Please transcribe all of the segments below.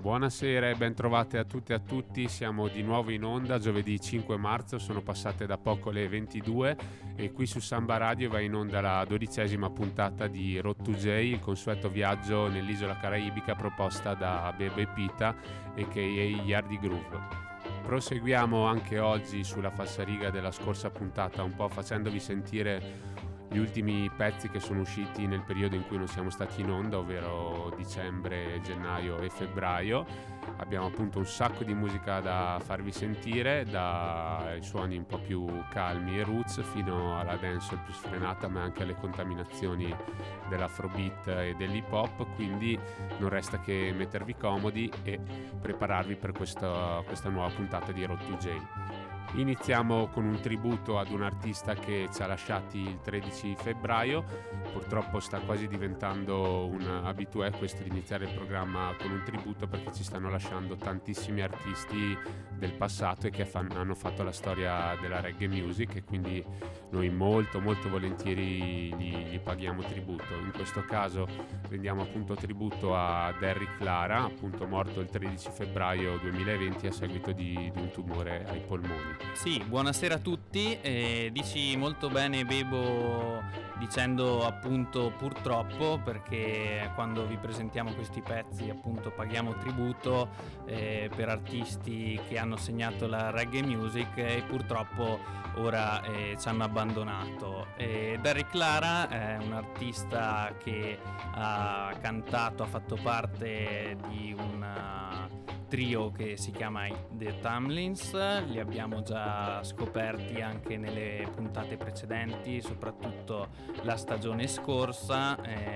Buonasera e ben trovate a tutte e a tutti, siamo di nuovo in onda giovedì 5 marzo, sono passate da poco le 22 e qui su Samba Radio va in onda la 12ª puntata di Road to J, il consueto viaggio nell'isola caraibica proposta da Bebe Pita a.k.a. Yardi Groove. Proseguiamo anche oggi sulla falsariga della scorsa puntata, un po' facendovi sentire gli ultimi pezzi che sono usciti nel periodo in cui non siamo stati in onda, ovvero dicembre, gennaio e febbraio. Abbiamo appunto un sacco di musica da farvi sentire, dai suoni un po' più calmi e roots fino alla dancehall più sfrenata, ma anche alle contaminazioni dell'afrobeat e dell'hip hop, quindi non resta che mettervi comodi e prepararvi per questa nuova puntata di Road to J. Iniziamo con un tributo ad un artista che ci ha lasciati il 13 febbraio, purtroppo sta quasi diventando un habitué questo di iniziare il programma con un tributo, perché ci stanno lasciando tantissimi artisti del passato e che hanno fatto la storia della reggae music, e quindi noi molto volentieri gli paghiamo tributo. In questo caso rendiamo appunto tributo a Derrick Lara, appunto morto il 13 febbraio 2020 a seguito di un tumore ai polmoni. Sì, buonasera a tutti. Dici molto bene, Bebo, dicendo appunto purtroppo, perché quando vi presentiamo questi pezzi appunto paghiamo tributo per artisti che hanno segnato la reggae music e purtroppo ora ci hanno abbandonato. Derrick Lara è un artista che ha cantato, ha fatto parte di un trio che si chiama The Tamlins. Li abbiamo già scoperti anche nelle puntate precedenti, soprattutto la stagione scorsa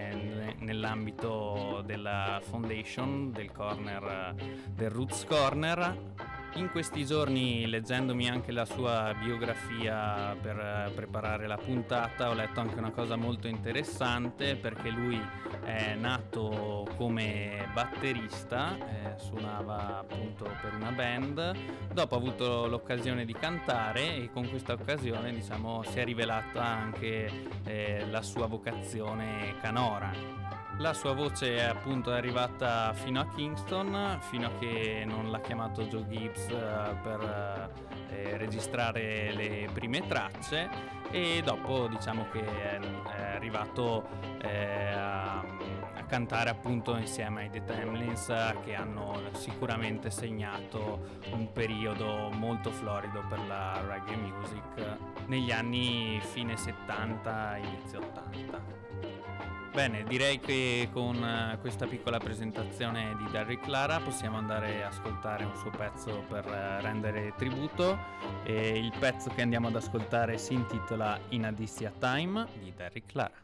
nell'ambito della Foundation, del corner del Roots Corner. In questi giorni, leggendomi anche la sua biografia per preparare la puntata, ho letto anche una cosa molto interessante, perché lui è nato come batterista, suonava appunto per una band, dopo ha avuto l'occasione di cantare e con questa occasione, diciamo, si è rivelata anche la sua vocazione canora. La sua voce appunto è arrivata fino a Kingston, fino a che non l'ha chiamato Joe Gibbs per registrare le prime tracce, e dopo diciamo che è arrivato a cantare appunto insieme ai The Tamlins, che hanno sicuramente segnato un periodo molto florido per la reggae music negli anni fine 70, inizio 80. Bene, direi che con questa piccola presentazione di Derrick Lara possiamo andare a ascoltare un suo pezzo per rendere tributo, e il pezzo che andiamo ad ascoltare si intitola In a Dizzy Time di Derrick Lara.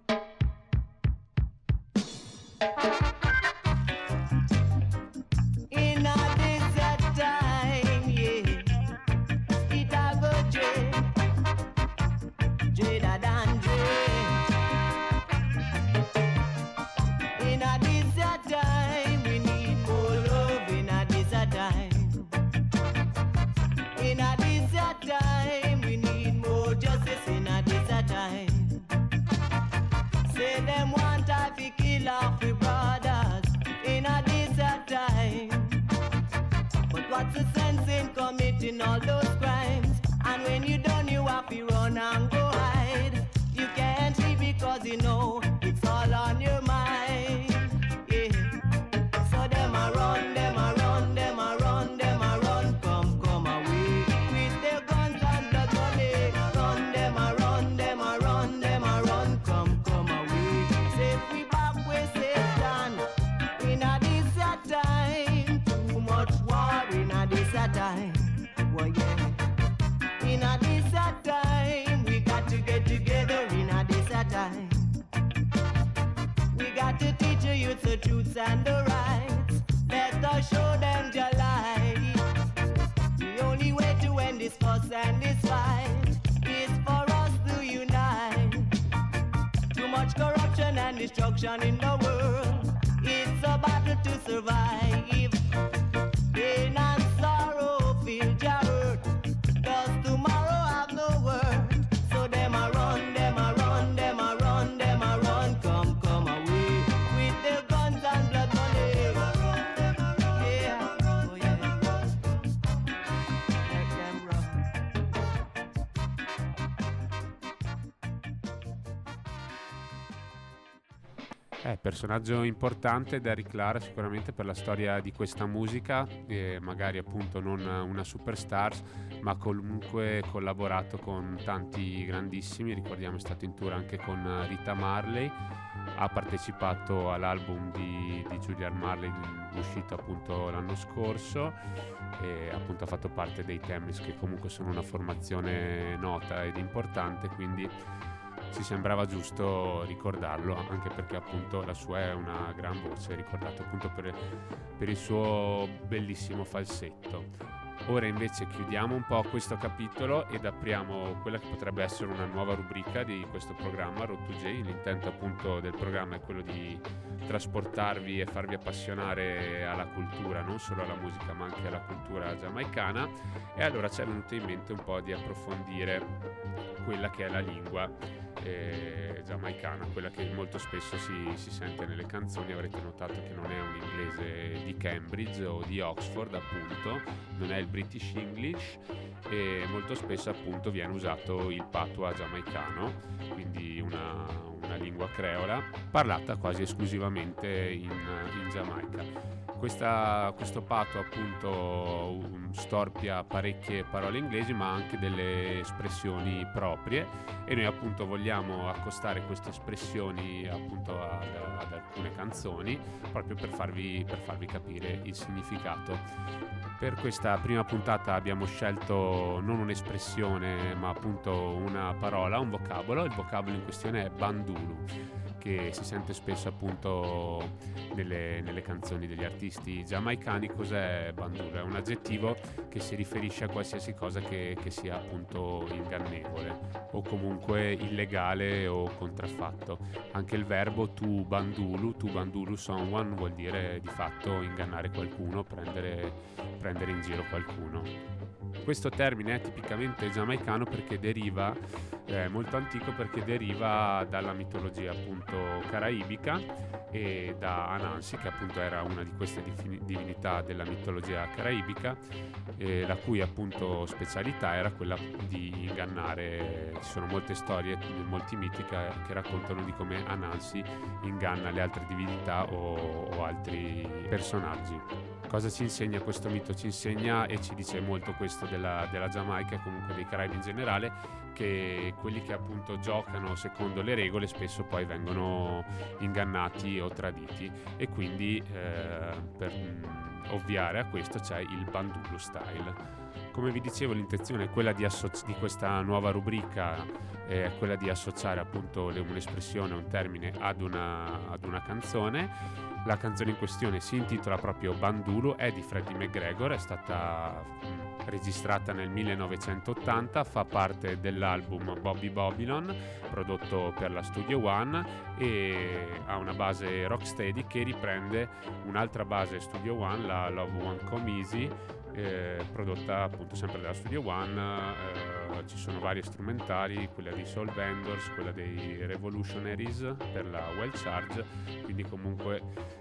What's the sense in committing all those crimes? And when you're done, you have to run and go hide. You can't leave because you know it's all on your mind. Yeah. So them a run, them a run, them a run, them a run. Come away with their guns and blood money. Run, them a run, them a run, them a run. Come away. Say we back with Satan in a this time. Too much war in a this time. Well, yeah. In a this time, we got to get together in a this time. We got to teach the youth the truths and the rights. Let us show them the light. The only way to end this fuss and this fight is for us to unite. Too much corruption and destruction in the world. It's a battle to survive. Pain and sorrow feel your hurt. Does tomorrow have no word? So them a run, them a run, them a run, them a run. Come away with their guns and blood money. Personaggio importante Derrick Clara sicuramente per la storia di questa musica, magari appunto non una superstar, ma comunque collaborato con tanti grandissimi. Ricordiamo è stato in tour anche con Rita Marley, ha partecipato all'album di Julian Marley uscito appunto l'anno scorso e appunto ha fatto parte dei Timeless, che comunque sono una formazione nota ed importante, quindi ci sembrava giusto ricordarlo, anche perché appunto la sua è una gran voce, ricordato appunto per il suo bellissimo falsetto. Ora invece chiudiamo un po' questo capitolo ed apriamo quella che potrebbe essere una nuova rubrica di questo programma Road to J. L'intento appunto del programma è quello di trasportarvi e farvi appassionare alla cultura, non solo alla musica ma anche alla cultura giamaicana, e allora ci è venuto in mente un po' di approfondire quella che è la lingua giamaicana, quella che molto spesso si sente nelle canzoni. Avrete notato che non è un inglese di Cambridge o di Oxford, appunto, non è il British English, e molto spesso appunto viene usato il patois giamaicano, quindi una lingua creola parlata quasi esclusivamente in Giamaica. Questo patto appunto storpia parecchie parole inglesi ma anche delle espressioni proprie, e noi appunto vogliamo accostare queste espressioni appunto ad alcune canzoni proprio per farvi capire il significato. Per questa prima puntata abbiamo scelto non un'espressione ma appunto una parola, un vocabolo. Il vocabolo in questione è bandulu, che si sente spesso appunto nelle canzoni degli artisti giamaicani. Cos'è bandulu? È un aggettivo che si riferisce a qualsiasi cosa che sia appunto ingannevole o comunque illegale o contraffatto. Anche il verbo to bandulu someone vuol dire di fatto ingannare qualcuno, prendere in giro qualcuno. Questo termine è tipicamente giamaicano perché deriva, molto antico, perché deriva dalla mitologia appunto caraibica e da Anansi, che appunto era una di queste divinità della mitologia caraibica, la cui appunto specialità era quella di ingannare. Ci sono molte storie, molti miti che raccontano di come Anansi inganna le altre divinità o altri personaggi. Cosa ci insegna questo mito? Ci insegna e ci dice molto questo della Giamaica e comunque dei Caraibi in generale, che quelli che appunto giocano secondo le regole spesso poi vengono ingannati o traditi, e quindi per ovviare a questo c'è il bandulu style. Come vi dicevo, l'intenzione è quella di questa nuova rubrica, è quella di associare appunto un'espressione, un termine ad una canzone. La canzone in questione si intitola proprio Bandulu, è di Freddie McGregor, è stata registrata nel 1980, fa parte dell'album Bobby Babylon prodotto per la Studio One e ha una base rocksteady che riprende un'altra base Studio One, la Love Won't Come Easy, prodotta appunto sempre dalla Studio One. Ci sono varie strumentali, quella dei Soul Vendors, quella dei Revolutionaries per la Wild Charge, quindi comunque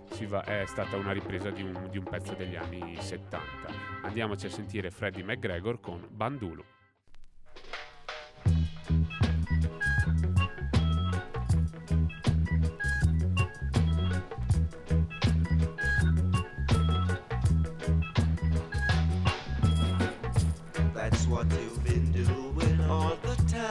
è stata una ripresa di un pezzo degli anni 70. Andiamoci a sentire Freddie McGregor con Bandulu. That's what you've been doing all the time,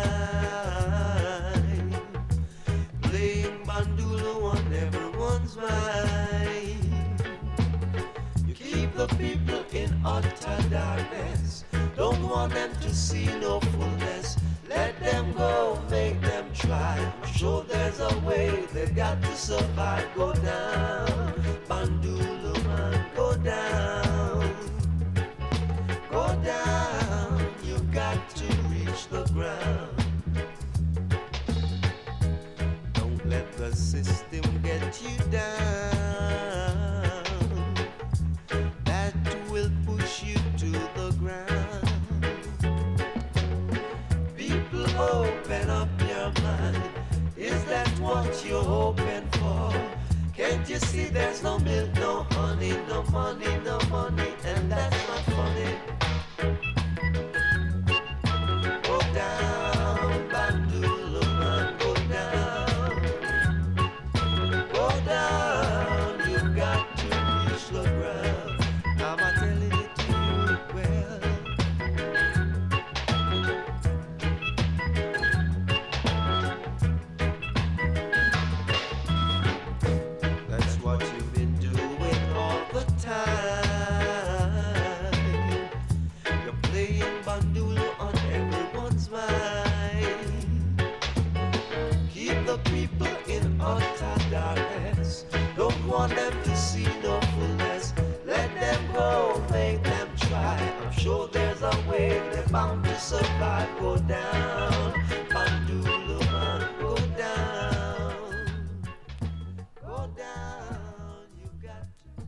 playing bandulu on everyone's mind. You keep the people in utter darkness, don't want them to see no fullness. Let them go, make them try, I'm sure there's a way, they've got to survive. Go down, bandulu man, go down. Go down, you got to reach the ground. Don't let the system get you down. That will push you to the ground. People, open up your mind. Is that what you're hoping for? Can't you see there's no milk, no honey, no money, and that's not funny. Go down, bandulu man, go down. time. You're playing bandolo on everyone's mind. Keep the people in utter darkness. Don't want them to see no fullness. Let them go, make them try. I'm sure there's a way they're bound to survive. Go down, bandolo man, go down. Go down, you got to.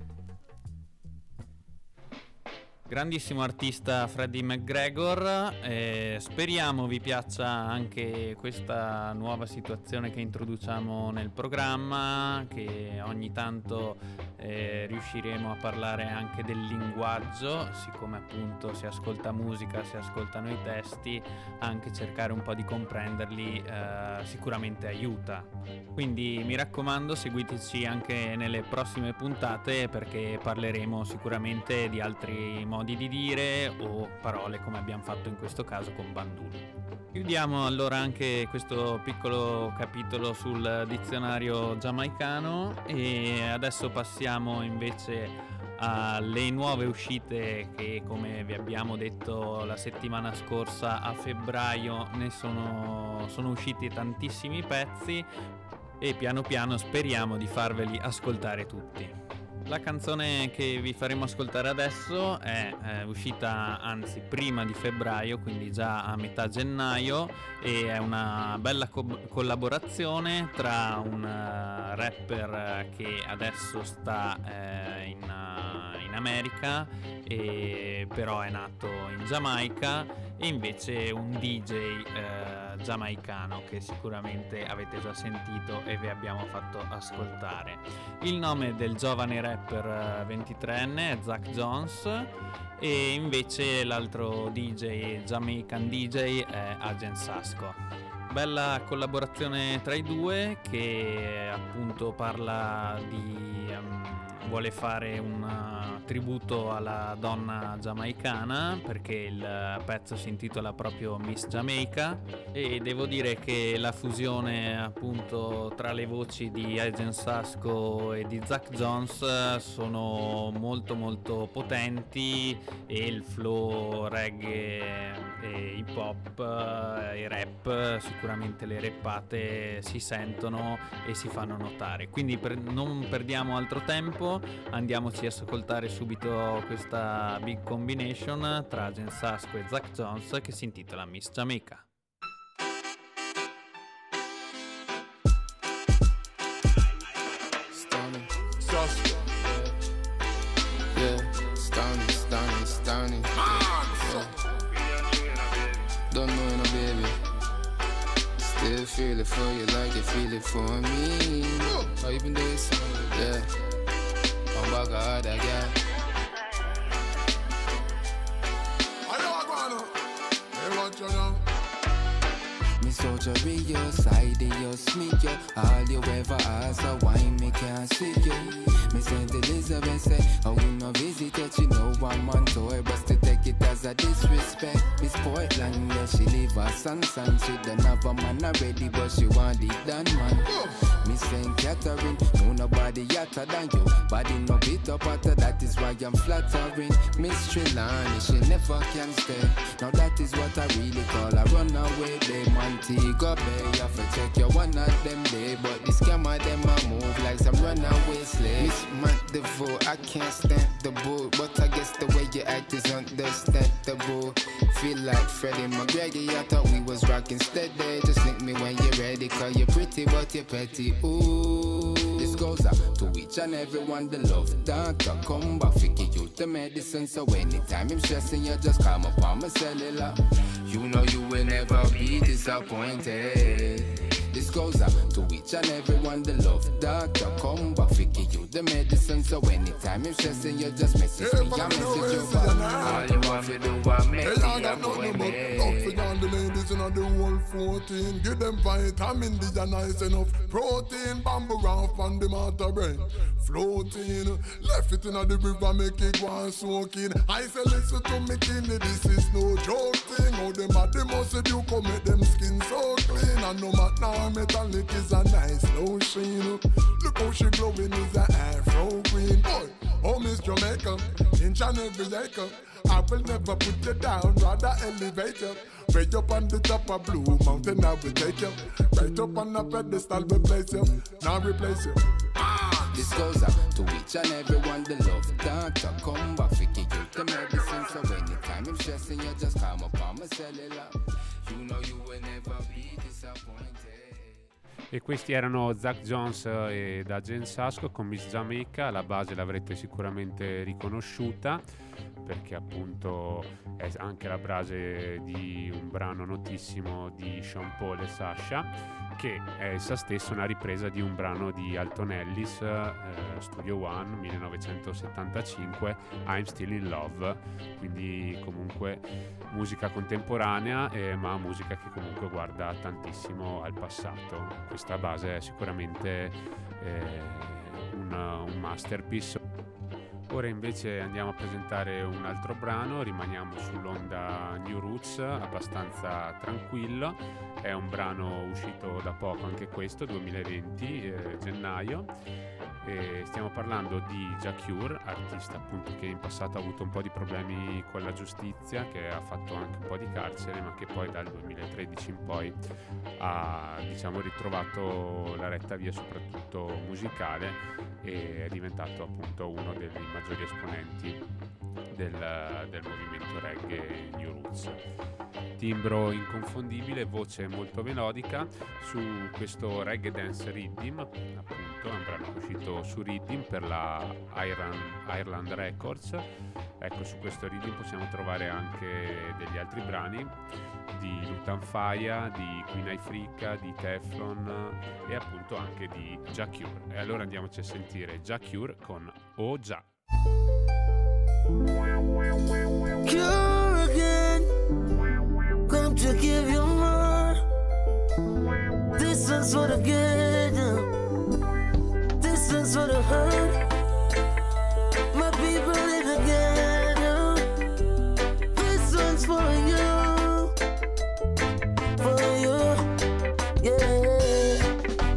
Grandissimo artista Freddie McGregor, speriamo vi piaccia anche questa nuova situazione che introduciamo nel programma, che ogni tanto riusciremo a parlare anche del linguaggio, siccome appunto si ascolta musica, si ascoltano i testi, anche cercare un po' di comprenderli sicuramente aiuta. Quindi mi raccomando, seguiteci anche nelle prossime puntate, perché parleremo sicuramente di altri modi di dire o parole, come abbiamo fatto in questo caso con bandolo. Chiudiamo allora anche questo piccolo capitolo sul dizionario giamaicano e adesso passiamo invece alle nuove uscite che, come vi abbiamo detto la settimana scorsa, a febbraio ne sono usciti tantissimi pezzi e piano piano speriamo di farveli ascoltare tutti. La canzone che vi faremo ascoltare adesso è uscita anzi prima di febbraio, quindi già a metà gennaio, e è una bella collaborazione tra un rapper che adesso sta in America però è nato in Giamaica, e invece un DJ giamaicano che sicuramente avete già sentito e vi abbiamo fatto ascoltare. Il nome del giovane rapper 23enne è Zach Jones e invece l'altro DJ, Jamaican DJ, è Agent Sasco. Bella collaborazione tra i due, che appunto parla di vuole fare un tributo alla donna giamaicana, perché il pezzo si intitola proprio Miss Jamaica, e devo dire che la fusione appunto tra le voci di Agent Sasco e di Zach Jones sono molto molto potenti, e il flow reggae e hip hop e rap, sicuramente le rappate si sentono e si fanno notare. Quindi non perdiamo altro tempo, andiamoci a ascoltare subito questa big combination tra Agent Sasco e Zach Jones che si intitola Miss Jamaica. Don't know no baby. Still feel it for you like you feel it for me. Oh, you been doing something? Yeah. I'm back hard again. I know I'm gonna. Hey, what you know? Me surgery, your side, your sneak, you. All you ever ask, so why me can't see you? Me St. Elizabeth say, oh, we no visit yet, you know I'm on tour, but still take it as a disrespect. Miss Portland, yeah, she leave her son, she don't have a man already, but she want it done, man. Miss St. Catherine, no nobody hotter than you, body no beat up hotter, that is why I'm flattering. Miss Trelawney, she never can stay, now that is what I really call a runaway babe. Montego Bay, you have to check your one of them day, but this scammer them a move like some runaway slave. Miss Mandeville, I can't stand the bull, but I guess the way you act is understandable. Feel like Freddie McGregor, I thought we was rocking steady. Just link me when you're ready, cause you're pretty but you're petty. Ooh, this goes out to each and everyone, the love doctor come back, figure you the medicine. So anytime I'm stressing, you just call up on my cellular. You know you will never be disappointed. This goes out to each and everyone, the love doctor come back, figure you the medicine. So anytime you're stressing, you just message me, I message you back. All you want to do is make me a boy, man. Don't forget the ladies in the whole 14. Give them vitamin D and nice enough protein. Bamboo round on the matter brain floating. Left it in the river, make it go and soaking. I say listen to me kidney, this is no joke thing. How them at the muscle you come make them skin so clean. And no matter metallic is a nice lotion. Look how she glowing is a afro green. Boy, Oh, Miss Jamaica, inch and every acre. I will never put you down, rather elevate you. Way up on the top of Blue Mountain, I will take you. Right up on a pedestal, we place you. Now replace you. This goes out to each and everyone that love doctor. Come back, fix you the medicine. So anytime I'm stressing, you just come up on my cellular. You know you will never be disappointed. E questi erano Zach Jones ed Agent Sasco con Miss Jamaica. La base l'avrete sicuramente riconosciuta perché appunto è anche la base di un brano notissimo di Sean Paul e Sasha, che è essa stessa una ripresa di un brano di Alton Ellis, Studio One 1975, I'm Still in Love. Quindi comunque musica contemporanea, ma musica che comunque guarda tantissimo al passato. Questa base è sicuramente un masterpiece. Ora invece andiamo a presentare un altro brano, rimaniamo sull'onda New Roots, abbastanza tranquillo. È un brano uscito da poco anche questo, 2020, gennaio. E stiamo parlando di Ja Cure, artista appunto che in passato ha avuto un po' di problemi con la giustizia, che ha fatto anche un po' di carcere, ma che poi dal 2013 in poi ha ritrovato la retta via soprattutto musicale e è diventato appunto uno dei maggiori esponenti del movimento reggae New Roots. Timbro inconfondibile, voce molto melodica su questo reggae dance rhythm, appunto è un brano uscito su Rhythm per la Ireland Records. Ecco, su questo Rhythm possiamo trovare anche degli altri brani di Lutan Fyah, di Queen Ifrica, di Teflon e appunto anche di Ja Cure. E allora andiamoci a sentire Ja Cure con Oh Ja. Cure again, come to give you more. This one's for the good, this one's for the hurt. My people live together. This one's for you, yeah.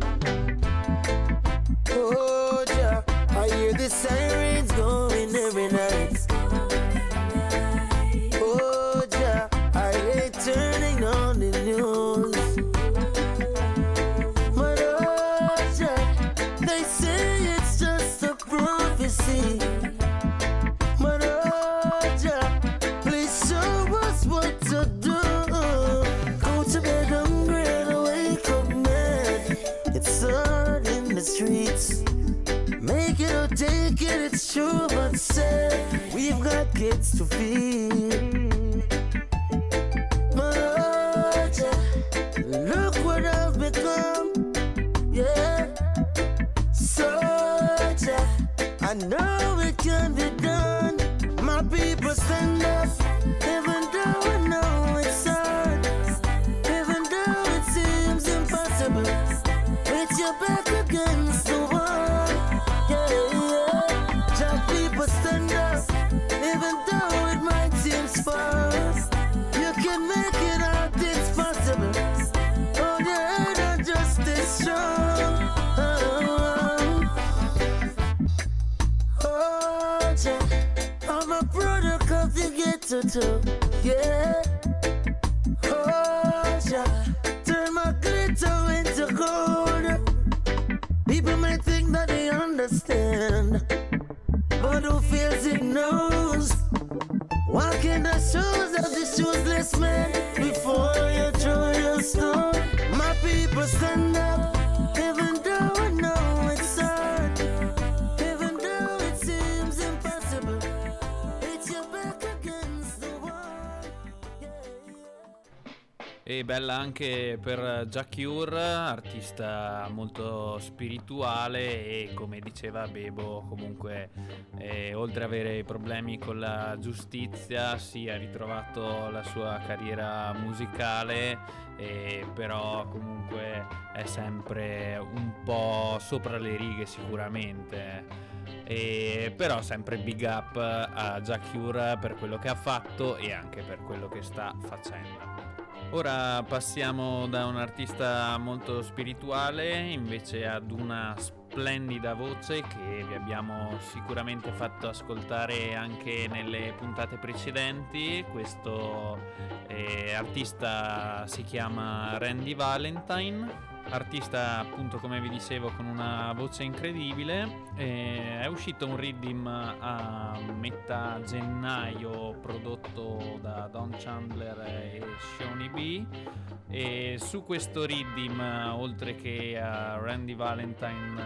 Oh yeah, I hear the sirens going every night. Oh yeah, I hate turning on the news. But oh yeah, they say it's just a prophecy. But oh yeah, please show us what to do. Go to bed hungry and wake up mad. It's hard in the streets. Make it or take it, it's true but sad. We've got kids to feed. But oh yeah, look what I've become. Yeah, so yeah, I know it can be done. My people stand up, even though I know it's hard, even though it seems impossible. With your back against the wall, yeah, yeah. Just people stand up, even though it might seem far. You can make it out, it's possible. Oh yeah, not just as strong. Oh yeah, I'm a product of the ghetto too, yeah. Oh yeah, turn my glitter into gold. People might think that they understand, but who feels it knows. Walking the shoes of the shoeless man before you throw your stone. My people stand up, even though I know it's hard, even though it seems impossible. It's your back against the wall. Yeah, yeah. E bella anche per Ja Cure, artista molto spirituale e come diceva Bebo comunque oltre ad avere problemi con la giustizia si è ritrovato la sua carriera musicale, però comunque è sempre un po' sopra le righe sicuramente. Però sempre big up a Ja Cure per quello che ha fatto e anche per quello che sta facendo. Ora passiamo da un artista molto spirituale invece ad una splendida voce che vi abbiamo sicuramente fatto ascoltare anche nelle puntate precedenti. Questo artista si chiama Randy Valentine, artista appunto, come vi dicevo, con una voce incredibile. È uscito un riddim a metà gennaio prodotto da Don Chandler e Shawnee B, e su questo riddim, oltre che a Randy Valentine,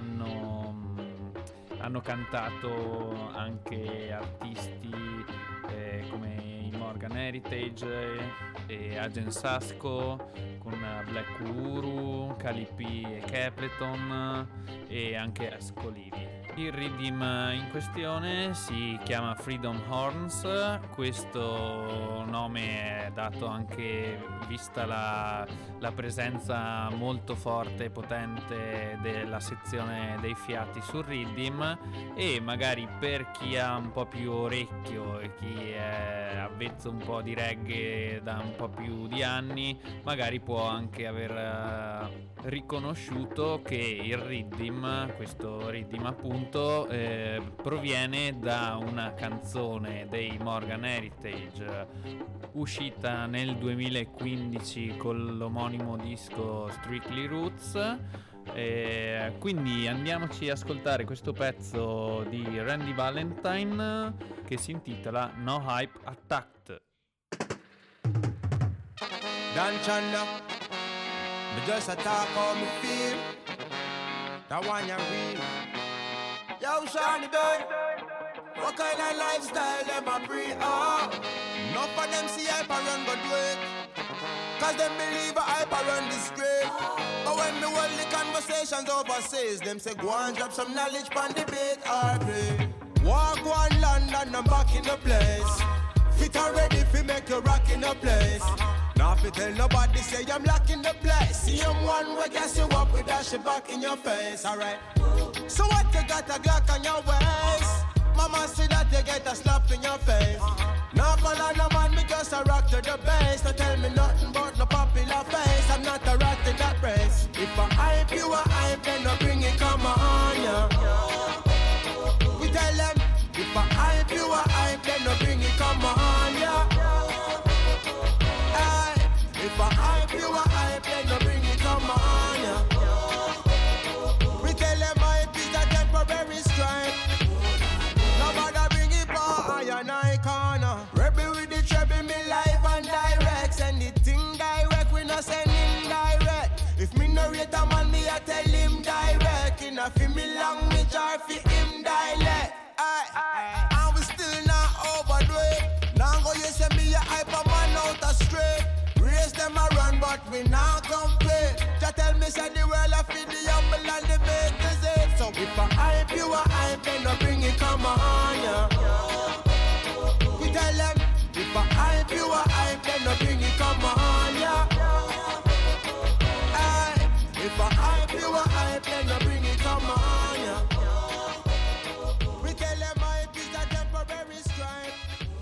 hanno cantato anche artisti come i Morgan Heritage e Agent Sasco, con Black Uhuru, Cali P e Capleton e anche Ascolivi. Il riddim in questione si chiama Freedom Horns. Questo nome è dato anche vista la presenza molto forte e potente della sezione dei fiati sul riddim, e magari per chi ha un po' più orecchio e chi è avvezzo un po' di reggae da un po' più di anni, magari può anche aver riconosciuto che il riddim, questo riddim appunto, proviene da una canzone dei Morgan Heritage uscita nel 2015 con l'omonimo disco Strictly Roots. Quindi andiamoci a ascoltare questo pezzo di Randy Valentine che si intitola No Hype Attacked. Don Chandler, me just a talk how me feel. That one you real. Yo, Shawnee boy, what kind of lifestyle them a breed? Enough of them see hype and run go do it, cause them believe a hype and run the street. But when me hold the conversations overseas, them say go and drop some knowledge pan debate or play. Walk one London, I'm back in the place. Fit and ready fi make you rock in the place. Now if you tell nobody say I'm locking the place. See I'm one way gas you up with that shit back in your face, alright. So what you got a Glock on your waist? Mama see that you get a slap in your face. Now follow no man, me just a rock to the bass. Don't tell me nothing about no popular face. I'm not a rat in that race. If I hype you a hype, then no bring it, come on, yeah. We tell them, if I hype you a hype, then no bring it, come on, yeah. If I hype you a hype, then no bring it, come on, yeah. We tell them hype is a temporary stripe. Nobody bring it for I and I corner. Rebel with the treble, me live and direct. Send the thing direct, we not send indirect. If me no rate a man, me I tell him direct. In a fi me language or fi him dialect. And we still not overdo it. Now go you say me a hype a man out a straight. Race them a run, but we not complain. Just tell me say the world a feed the humble and the bakers it. So if I hype you a hype, then no bring it, come on, yeah. We tell them, if I hype you a hype, then no bring it, come on, yeah. If I hype you a hype, then no bring it, come on, yeah. We tell them hype is a temporary stripe.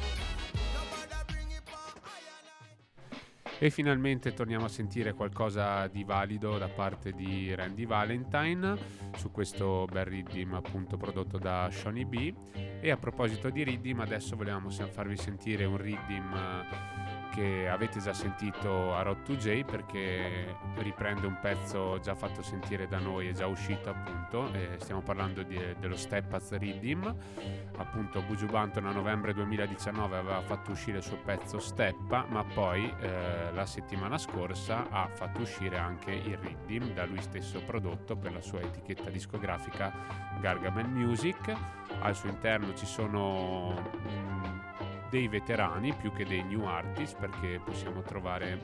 E finalmente torniamo a sentire qualcosa di valido da parte di Randy Valentine su questo bel riddim appunto prodotto da Shawnee B. E a proposito di riddim, adesso volevamo farvi sentire un riddim che avete già sentito a Road to J, perché riprende un pezzo già fatto sentire da noi e già uscito appunto. Stiamo parlando dello Steppaz Riddim. Appunto Buju Banton a novembre 2019 aveva fatto uscire il suo pezzo Steppa, ma poi la settimana scorsa ha fatto uscire anche il Riddim da lui stesso prodotto per la sua etichetta discografica Gargamel Music. Al suo interno ci sono dei veterani più che dei new artists, perché possiamo trovare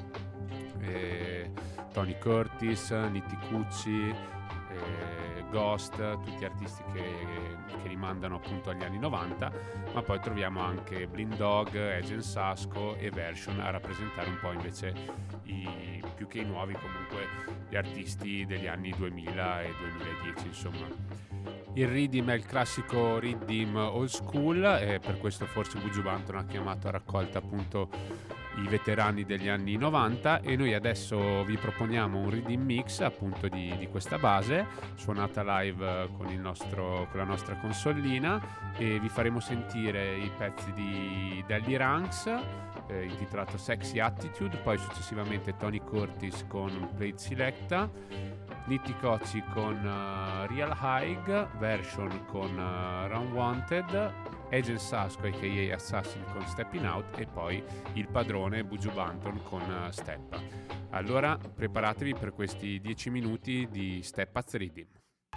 Tony Curtis, Nitti Cucci, Ghost, tutti artisti che rimandano appunto agli anni 90, ma poi troviamo anche Blind Dog, Agent Sasco e Version a rappresentare un po' invece più che i nuovi, comunque gli artisti degli anni 2000 e 2010 insomma. Il riddim è il classico riddim old school e per questo forse Buju Banton ha chiamato a raccolta appunto i veterani degli anni 90, e noi adesso vi proponiamo un reading mix appunto di questa base suonata live con la nostra consolina, e vi faremo sentire i pezzi di Delly Ranks intitolato Sexy Attitude, poi successivamente Tony Curtis con Plate Selecta, Nitty Cocci con Real High version con Round Wanted, Agent Sasco aka Assassin con Stepping Out, e poi il padrone Buju Banton con Steppa. Allora preparatevi per questi 10 minuti di Steppa Reading.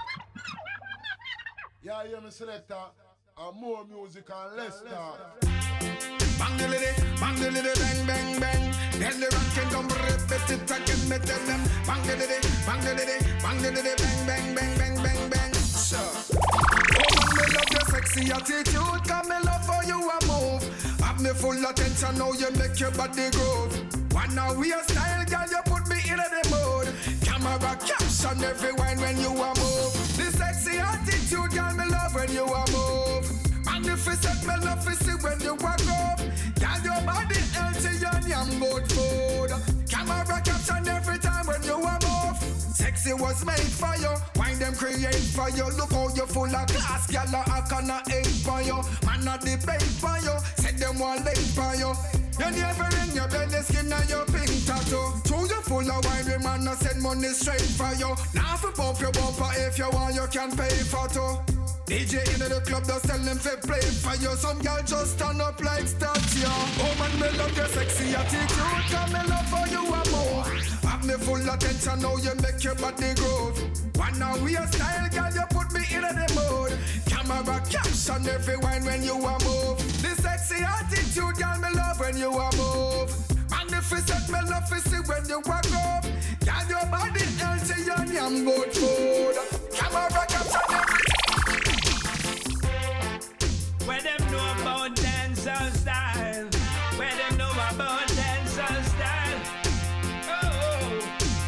Yeah, yeah, me selector. More music and less talk. Bang the bang bang bang. Then the rank can come repeat it again. Me tell them bang the bang the bang bang bang bang bang bang. Sure. Oh, me love your sexy attitude, 'cause me love how you a move. Have me full attention now, you make your body groove. Wanna wear style, girl, you put me in the mood. Camera caption every wine when you a move. The sexy attitude, girl, me love when you a move. Magnificent, me love to see when you walk up. Girl, your body healthy and yam good food. Camera caption every time when you a move. Sexy was made for you, wine them create for you. Look how you full of class, girl, I canna hate for you. Man, I debate for you, said them one late for you. You never in your belly skin and your pink tattoo. True, you full of wine, we man, I send money straight for you. Now if you bump your bumper, if you want, you can pay for two. DJ in the club, just tell them to play for you. Some girl just stand up like statue. Oh man, me love your sexy attitude, 'cause me love how you a move. Have me full attention now, you make your body groove. Wanna wear style, girl, you put me in the mood. Camera caption every wine when you a move. The sexy attitude, girl, me love when you a move. Magnificent, me love to see when you walk up. Girl, your body healthy and yam good food. Camera caption every. Where them know about dancehall style? Where them know about dancehall style? Oh,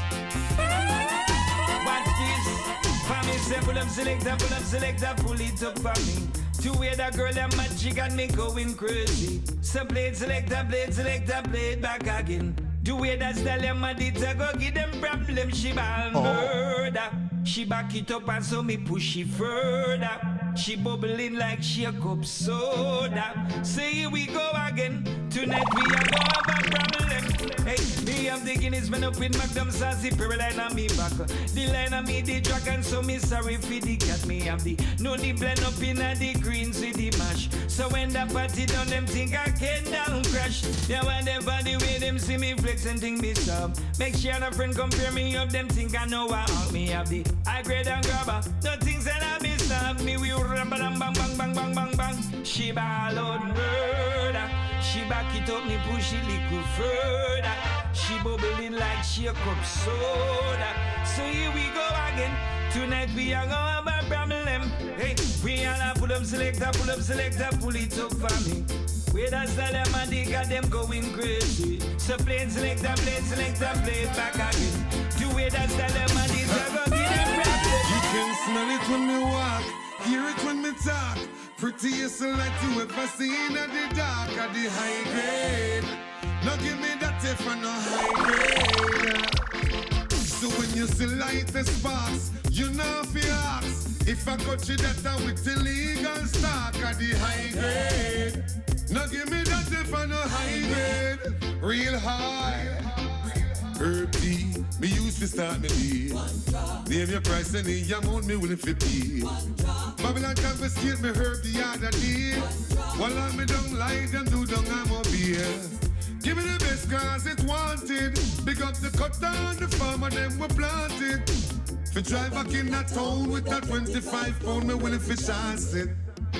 what is? For me, say pull up selector, pull it up for me. To wear that girl that magic got me going crazy. So play it selector, play it back again. The way that style them a did to go give them problem, she ball murder. She back it up and so me push it further. She bubbling like she a cup soda. So here we go again. Tonight we are gonna have a problem. Hey, me have the Guinness man up with Magnum Sassy Pearline on me back. The line on me the dragon, so me sorry for the cat. Me have the no the blend up in a the greens with the mash. So when the party done, them think I can down crash. They want them by the way them see me flex and think me sub. Make sure a friend compare me up, them think I know I all me have the high grade and grabber. No things that I miss up me we rumble and bang bang bang bang bang bang. She ball out murder. She back it up, me push it little further. She bubbling like she a cup soda. So here we go again. Tonight we are gonna have a problem. Hey, we all pull up selector, pull it up for me. Where that's the them and they got them going crazy. So play it selector, play it back again. The way that's the them and they got them problem. You can smell it when me walk, hear it when me talk. Prettiest like you ever seen at the dark at the high grade. Now give me that if I no high grade. So when you see light the sparks, you know if you ask. If I got you that with illegal stock at the high grade. Now give me that if I no high grade. Real high. Herb tea, me used to start me deal. Name your price and the amount me willing to pay. Babylon confiscate me herb the other day. While I'm me don't lie, them do don't I'm up here. Give me the best cause it's wanted. Big up the cut down the farmer, them were planted. For drive back in that town with that 25 pound, me willing to chance it.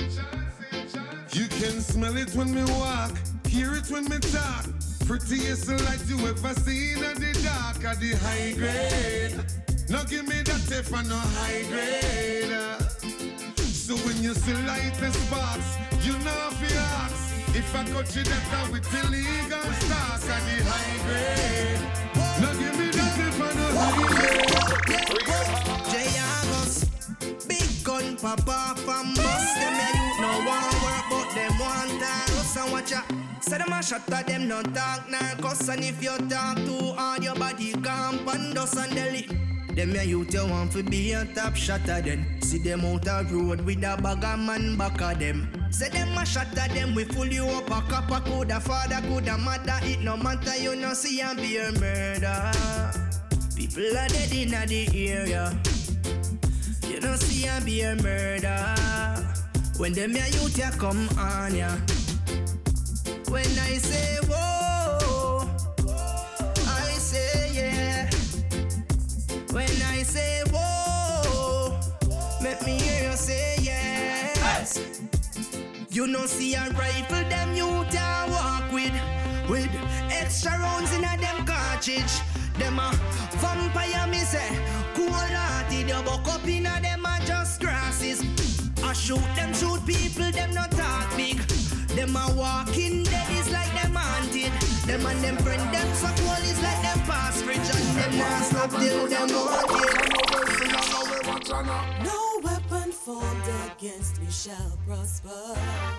You can smell it when me walk, hear it when me talk. Prettiest like you ever seen at the dark at the high grade. Now give me that if I no high grade. So when you see light the sparks, you know if you ask. If I got you that with illegal stock at the high grade. Now give me that if I no high grade. J-Agos, big gun papa from bus. Them you no want work but them want us and watch ya. Say them a shot at them, no talk, nah cuss. And if you talk too hard, your body camp and dust and deli. Them ya youth you want to be a top shot at them. See them out the road with a bag of man back of them. Say them a shot at them, we full you up a copper. Coulda father, coulda mother. It no matter, you no see and be a murder. People are dead in the area. You no see and be a murder. When them ya youth ya come on ya. When I say whoa, I say yeah. When I say whoa, make me hear you say yes. You know see a rifle them youth a walk with extra rounds in a them cartridge. Them a vampire me say, cool-hearted, you buck up in a them a just grasses. I shoot people, them not talk big. Them a walking dead is like them haunted. Them and them friend, them so cool is like them past fridge. And them not stop till them wanted. No weapon formed against me shall prosper.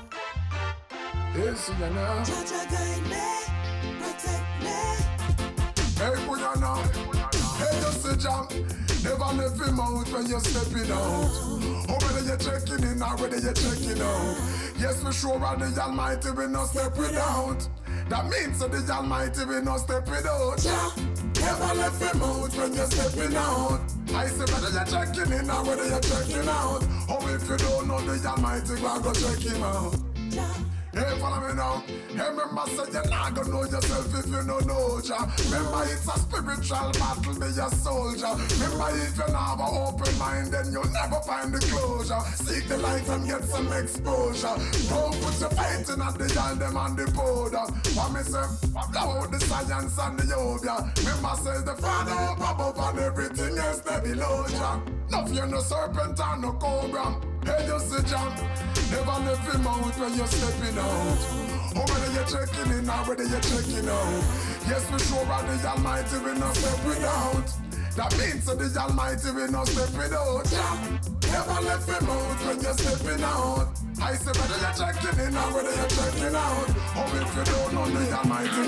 Yes, you know. Judge a guide me, protect me. Hey, Puyana, hey, you see jam. Never left him out when you're stepping out. Oh, whether you're checking in or whether you're checking out. Yes, we sure are the Almighty, we no step without. That means that the Almighty, we no step without. Yeah. Never left him out when you're stepping out. I say whether you're checking in or whether you're checking out. Oh, if you don't know the Almighty, go check him out. Yeah. Hey, follow me now. Hey, remember, say you're not gonna know yourself if you don't know ya. Remember, it's a spiritual battle, be a soldier. Remember, if you not have an open mind, then you'll never find the closure. Seek the light and get some exposure. Don't put your faith in at the young them and the powder. For me, say, blow out the science and the yoga. Remember, says the Father up above and everything else they below ya. No fear, no serpent and no cobra. Hey, you see jump. Never left him out when you're stepping out. Oh, whether you're checking in or whether you're checking out. Yes, we sure are the Almighty, we no step without. That means that the Almighty, we no step without. Yeah. Never left him out when you're stepping out. I say whether you're checking in or whether you're checking out. Oh, if you don't know the Almighty,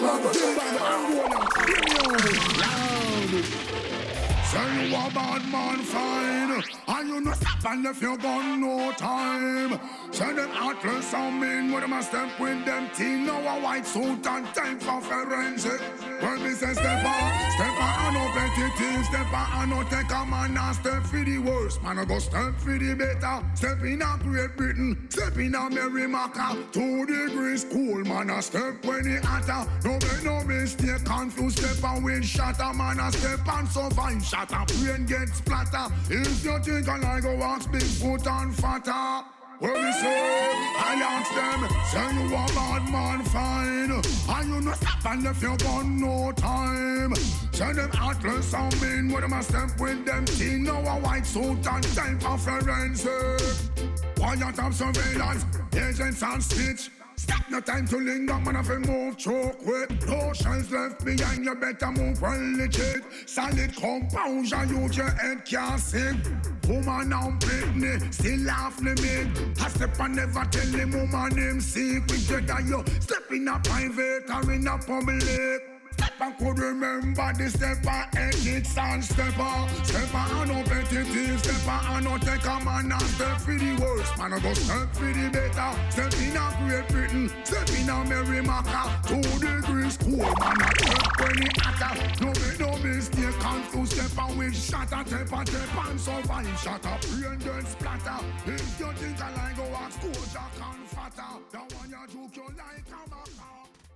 we're going to check him out. Say you a bad man fine, and you no stop and left your gun no time. Say them heartless and mean, with them a step with them teen. Now a white suit and time for forensic. When me say step on no petty, step on no take a man and step for the worst. Man I go step for the better. Step in a Great Britain, step in a Merrimaca. 2 degrees cool, man a step when he hotter. No make no mistake, confused step and wind shatter. Man a step and survive shot. A brain gets splatter. If you think I go ask Bigfoot and fatter. Where we say, I ask them, say you a bad man fine. And you no stop and left your gun no time. Say them heartless and mean, with them a step with them teen. Now a white suit and time for forensic. Quiet of surveillance, agents and stitch. Stop no time to linger, man, if you move choke quick. No shells left behind, you better move well legit. Solid composure, use your head can't sing. Woman and Britney, still laugh me mid. I step and never tell the woman him secret. Whether you step in a private or in a public. Stepper could remember the stepper ethics and stepper. Stepper and no petty, stepper and no take a man and step for the worst. Man I go step for the better. Step in a Great Britain, step in a Merrimaca. 2 degrees cool, man I step when he hotter. No make no mistake, confused stepper with shatter. Tap and survive, shatter, brain then splatter. If you think I like go ask coach, I can fatter. That one you joke you like a maca.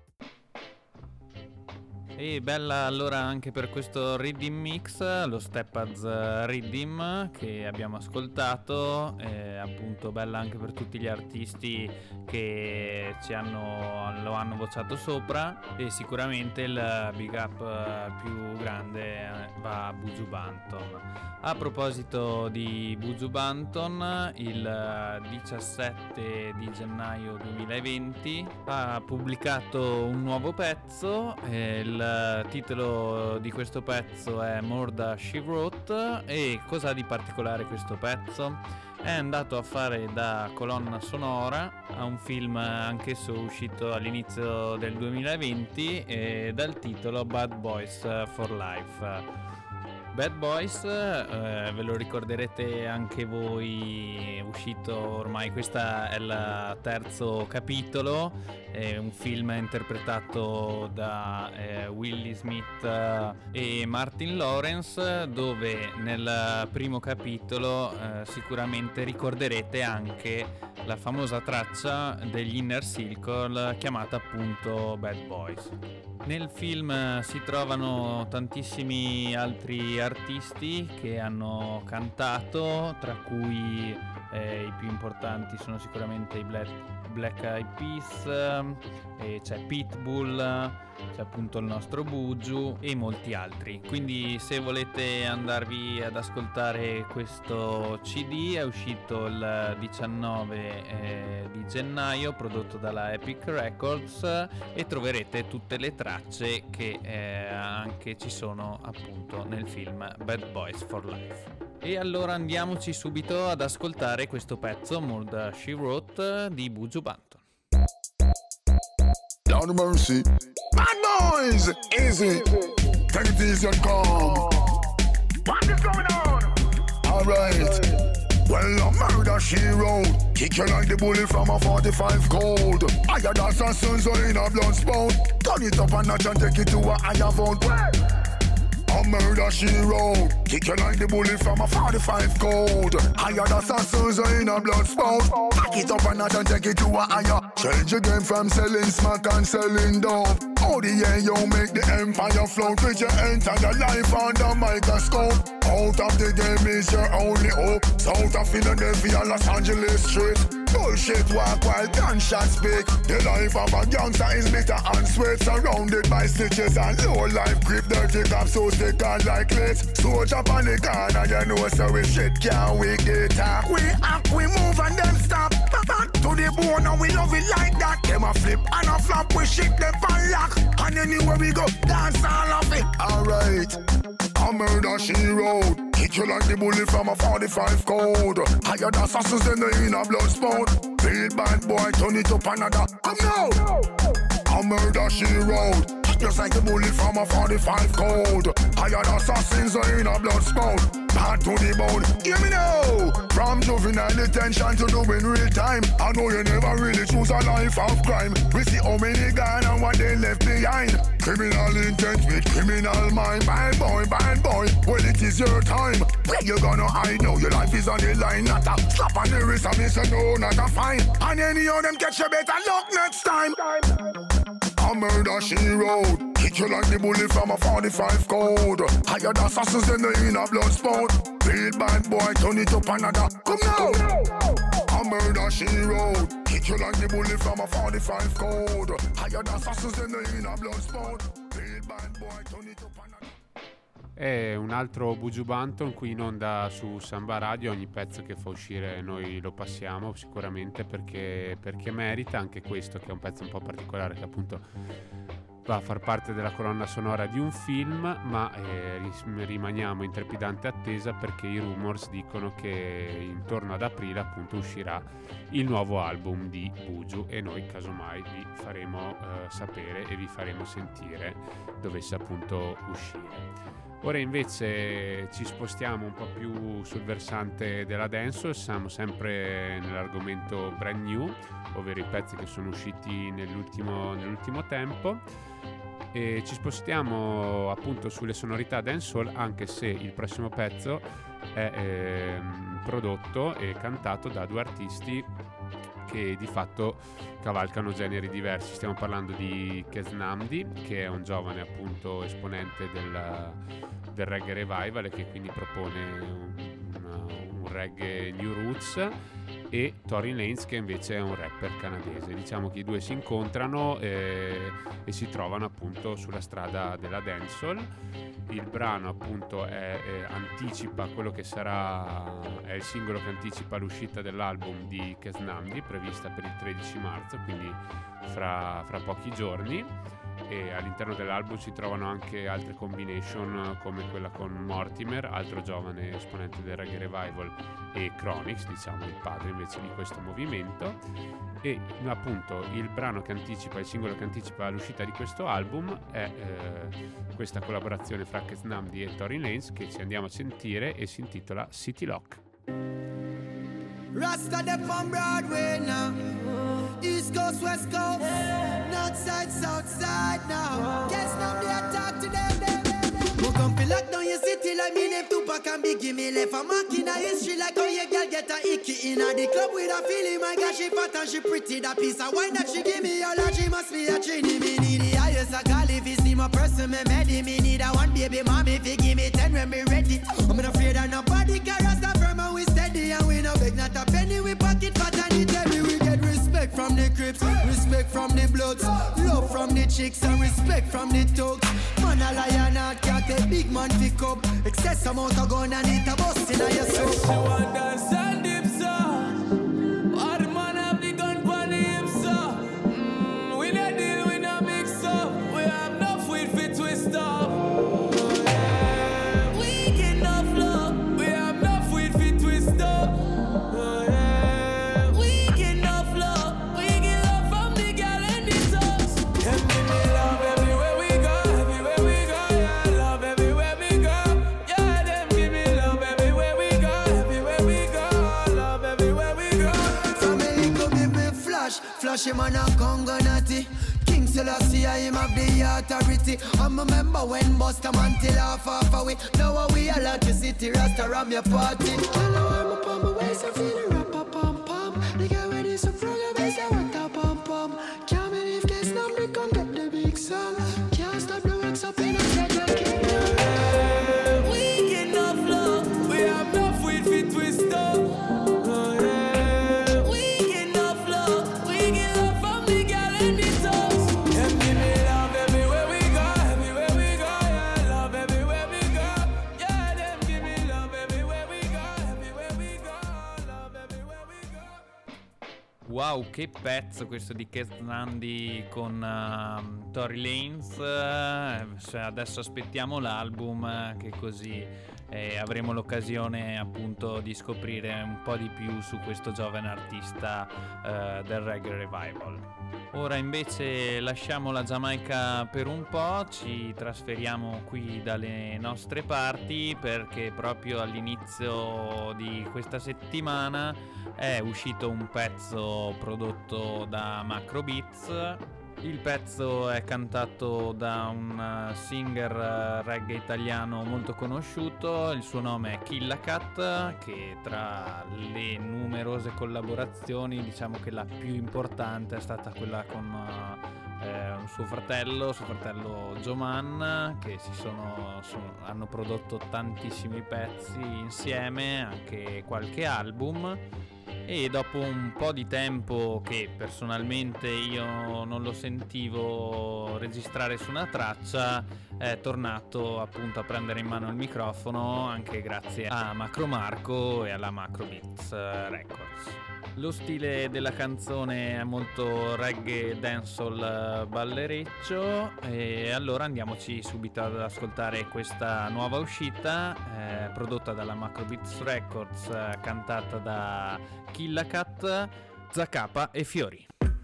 E bella allora anche per questo Riddim Mix, lo Stepaz Riddim che abbiamo ascoltato, appunto bella anche per tutti gli artisti che lo hanno vocato sopra, e sicuramente il big up più grande va a Buju Banton. A proposito di Buju Banton, il 17 di gennaio 2020 ha pubblicato un nuovo pezzo, il titolo di questo pezzo è More Than She Wrote. E cosa ha di particolare questo pezzo? è andato a fare da colonna sonora a un film anch'esso uscito all'inizio del 2020 dal titolo Bad Boys for Life. Bad Boys, ve lo ricorderete anche voi, è uscito ormai, questa è il terzo capitolo, è un film interpretato da Willie Smith e Martin Lawrence, dove nel primo capitolo sicuramente ricorderete anche la famosa traccia degli Inner Circle chiamata appunto Bad Boys. Nel film si trovano tantissimi altri artisti che hanno cantato, tra cui i più importanti sono sicuramente i Black Eyed Peas, c'è Pitbull, c'è appunto il nostro Buju e molti altri. Quindi se volete andarvi ad ascoltare questo CD, è uscito il 19 di gennaio, prodotto dalla Epic Records, e troverete tutte le tracce che anche ci sono appunto nel film Bad Boys for Life. E allora andiamoci subito ad ascoltare questo pezzo, More Than She Wrote, di Buju Banton. Lord mercy, Bad Boys, easy, take it easy and calm. What is going on? Alright. Well, a murder she wrote, kick you like the bullet from a 45 cold. Higher than assassins in a blood spout. Turn it up a notch and take it to a higher vote. A murder she wrote, kick you like the bullet from a 45 cold. Higher than assassins in a blood spout. Pack it up a notch and take it to a higher. Change your game from selling smack and selling dope. Oh the yeah, you make the empire float. With your entire life under microscope. Out of the game is your only hope. South of Philadelphia, Los Angeles street. Bullshit walk while gunshots speak. The life of a gangster is bitter and sweat. Surrounded by stitches and low life grip. Dirty cops so stick on like lids. Soldier on the corner, you know so we shit can't we get up. We act, we move and then stop. Back to the bone and we love it like that. Them a flip and a flop, we shit them and lock. And anywhere we go, dance all of it. Alright. A murder she wrote, kick you like the bullet from a 45 code. Higher than assassins in the inner blood spout. Feel bad boy, turn it up another. Come now. A murder she wrote, kick just like the bullet from a 45 code. Higher than assassins in a blood spout. Bad to the bone, hear me now. From juvenile detention to doing real time. I know you never really choose a life of crime. We see how many gone and what they left behind. Criminal intent with criminal mind. Bad boy, well it is your time. Where you gonna hide now? Your life is on the line. Not a slap on the wrist and me say no, not a fine. And any of them catch you better luck next time. A murder she wrote, kick you like the bullet from a 45 code. Higher than assassins in the inner blood spout. Feel bad boy, turn it up another. Come now. A murder she wrote, kick you like the bullet from a 45 code. Higher than assassins in the inner blood spout. Feel bad boy, turn it up another. È un altro Buju Banton qui in onda su Samba Radio. Ogni pezzo che fa uscire noi lo passiamo sicuramente perché merita anche questo, che è un pezzo un po' particolare, che appunto va a far parte della colonna sonora di un film, ma rimaniamo in trepidante attesa perché i rumors dicono che intorno ad aprile appunto uscirà il nuovo album di Buju e noi casomai vi faremo sapere e vi faremo sentire dovesse appunto uscire. Ora invece ci spostiamo un po' più sul versante della dancehall, siamo sempre nell'argomento brand new, ovvero i pezzi che sono usciti nell'ultimo tempo, e ci spostiamo appunto sulle sonorità dancehall, anche se il prossimo pezzo è prodotto e cantato da due artisti che di fatto cavalcano generi diversi. Stiamo parlando di Kez Namdi, che è un giovane appunto esponente del reggae revival e che quindi propone un reggae new roots, e Tory Lanez, che invece è un rapper canadese. Diciamo che i due si incontrano e si trovano appunto sulla strada della dancehall. Il brano appunto anticipa quello che è il singolo che anticipa l'uscita dell'album di Kez Namdi, prevista per il 13 marzo, quindi fra pochi giorni. e all'interno dell'album si trovano anche altre combination come quella con Mortimer, altro giovane esponente del reggae revival, e Chronix, diciamo il padre invece di questo movimento. E appunto il singolo che anticipa l'uscita di questo album è questa collaborazione fra Ket Namdi e Tory Lanez, che ci andiamo a sentire e si intitola City Lock. Rasta them on Broadway now, East Coast, West Coast, North Side, South Side now. Guess now they attack to them. Who come fi lock down your city like me name Tupac and Biggie. Me left a mark in a history like how your girl get a icky in a the club with a feeling. My God, she fat and she pretty. That piece of wine that she give me, all that she must be a trini. Me need the highest I call if it's my person, me ready. Me need a one baby mommy fi give me 10 when me ready. I'm not afraid of nobody, cause Rasta firm and we steady. And we no beg not a penny, we pocket fat and it heavy. We get respect from the Crips, respect from the Bloods, love from the chicks and respect from the thugs. Man a lion and cat, a big man pick up. Excess amount of gun and it a bust in a your soul. She want dance and dip, sir. All the man have the gun pon him, sir. We not deal, we not mix up. We have enough weed fi twist up. We get enough love. We have enough weed fi twist up. We get enough love. We get love from the gal and the thugs. Them give me love everywhere we go, everywhere we go. Yeah, love everywhere we go. Yeah, them give me love everywhere we go, everywhere we go. Love everywhere we go. Family come give me flash him on a Congo natty. King Selassie, I him have the authority. I'm a member when Busta Man till half away. Now we all like the city, Rasta ram your party. I know I'm up on my waist, I feel the rap pom pom. The guy with this program is a what a pom pom. Can't believe this number come get the big song. Can't stop the works up in a second kingdom. We get enough love. We have enough weed fi twist up. We get enough love. We get love from the gal and the thugs. Them give me love everywhere we go, everywhere we go. Yeah, love everywhere we go. Yeah, them give me love everywhere we go, everywhere we go. Love everywhere we go. Wow, che pezzo questo di Ket Namdi con Tory Lanez. Adesso aspettiamo l'album, che così avremo l'occasione appunto di scoprire un po' di più su questo giovane artista del reggae revival. Ora invece lasciamo la Giamaica per un po', ci trasferiamo qui dalle nostre parti, perché proprio all'inizio di questa settimana è uscito un pezzo prodotto da Macro Beats. Il pezzo è cantato da un singer reggae italiano molto conosciuto, il suo nome è Killa Cat, che tra le numerose collaborazioni diciamo che la più importante è stata quella con suo fratello Joman, che hanno prodotto tantissimi pezzi insieme, anche qualche album. E dopo un po' di tempo che personalmente io non lo sentivo registrare su una traccia, è tornato appunto a prendere in mano il microfono, anche grazie a Macro Marco e alla Macro Beats Records. Lo stile della canzone è molto reggae dancehall ballereccio, e allora andiamoci subito ad ascoltare questa nuova uscita prodotta dalla Macro Beats Records, cantata da Killa Cat, Zacapa e Fiori.